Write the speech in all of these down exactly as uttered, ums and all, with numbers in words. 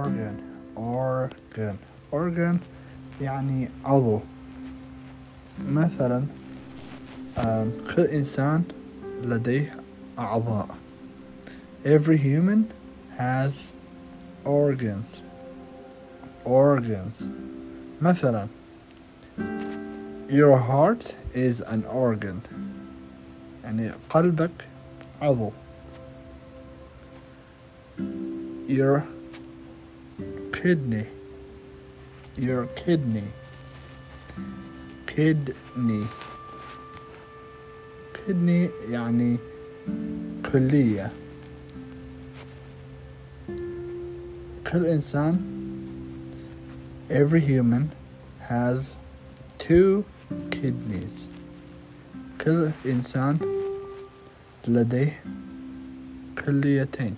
organ organ organ يعني عضو. مثلا كل إنسان لديه أعضاء. Every human has organs organs مثلا your heart is an organ يعني قلبك عضو. your kidney your kidney kidney kidney يعني كلية. كل إنسان every human has two kidneys. كل إنسان لديه كليتين.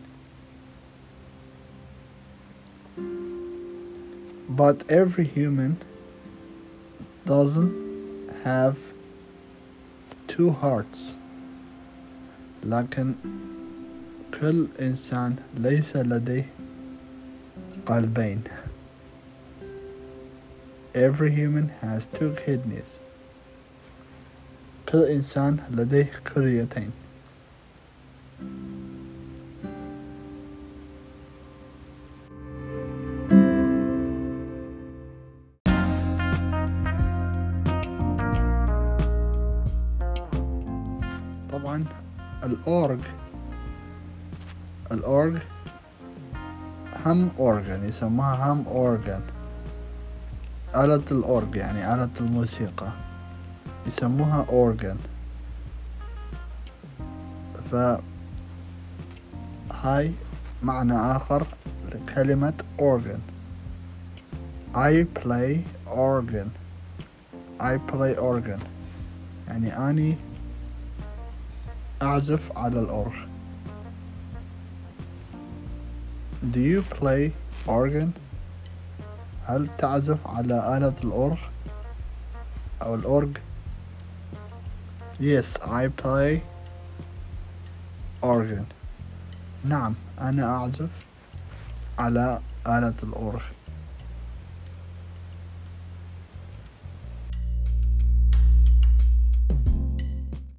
But every human doesn't have two hearts. لكن كل إنسان ليس لديه قلبين. Every human has two kidneys. كل إنسان لديه كليتين. طبعا الأورج الأورج هم أورجن يسموها هم أورجن. آلة الأورج يعني آلة الموسيقى يسموها أورجن. فهاي معنى آخر لكلمة أورجن. I play organ I play organ يعني أني أعزف على الأورج. Do you play organ؟ هل تعزف على آلة الأورج أو الأورج؟ Yes, I play organ. نعم، أنا أعزف على آلة الأورج.